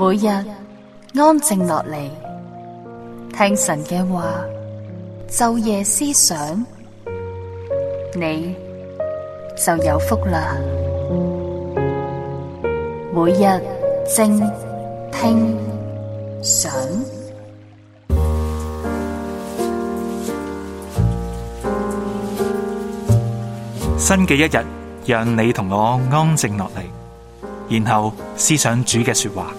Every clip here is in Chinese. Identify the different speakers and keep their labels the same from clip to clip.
Speaker 1: 每日安靜落嚟，聽神嘅話，晝夜思想，你就有福啦。每日靜聽想，
Speaker 2: 新嘅一日，讓你同我安靜落嚟，然後思想主嘅說話。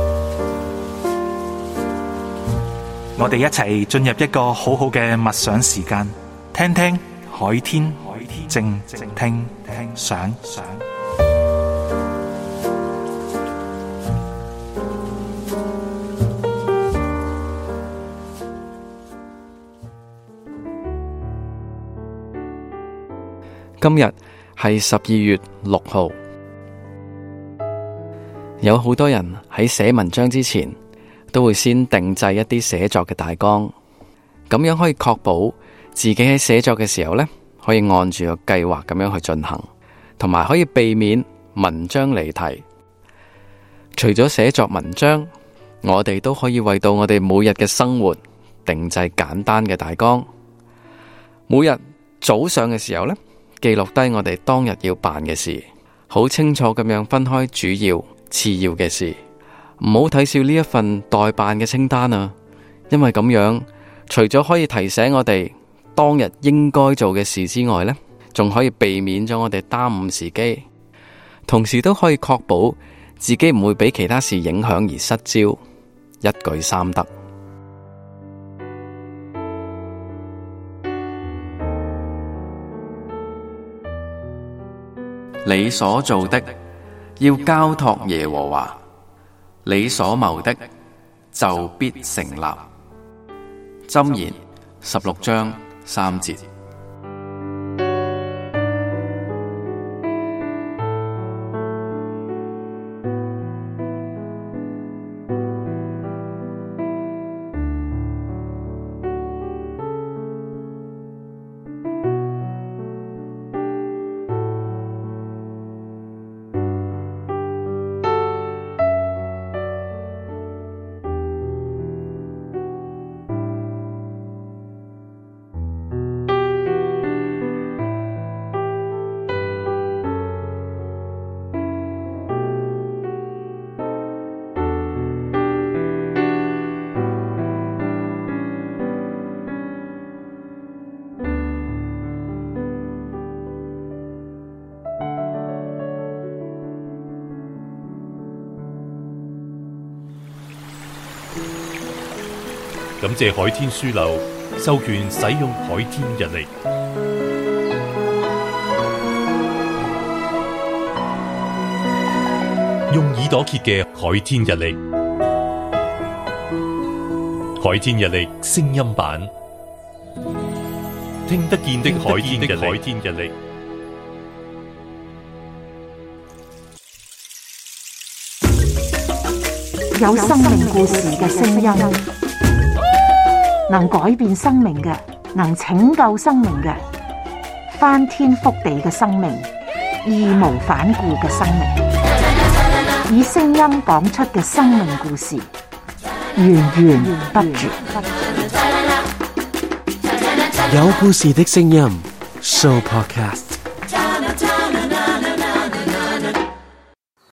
Speaker 2: 我哋一齊進入一個好好嘅默想時間，聽聽海天，靜聽想。
Speaker 3: 今日係12月6號，有好多人喺寫文章之前都會先定製一啲寫作嘅大綱，咁樣可以確保自己喺寫作嘅時候呢，可以按住個計劃咁樣去進行，同埋可以避免文章離題。除咗寫作文章，我哋都可以為到我哋每日嘅生活定製簡單嘅大綱。每日早上嘅時候呢，記錄低我哋當日要辦嘅事，好清楚咁樣分開主要、次要嘅事。唔好睇少呢一份待辦嘅清單啊，因為咁樣除咗可以提醒我哋當日應該做嘅事之外呢，仲可以避免咗我哋耽誤時機，同時都可以確保自己唔會俾其他事影響而失焦，一舉三得。你所做的要交託耶和華，你所謀的就必成立。箴言16章3節。
Speaker 4: 感謝海天書樓授權使用海天日曆，用耳朵揭嘅海天日曆，海天日曆聲音版，聽得見的海天日曆。
Speaker 5: 有生命故事嘅聲音，能改變生命嘅，能拯救生命嘅，翻天覆地嘅生命，義無反顧嘅生命，以聲音講出嘅生命故事，源源不絕。
Speaker 6: 有故事的聲音 Show Podcast。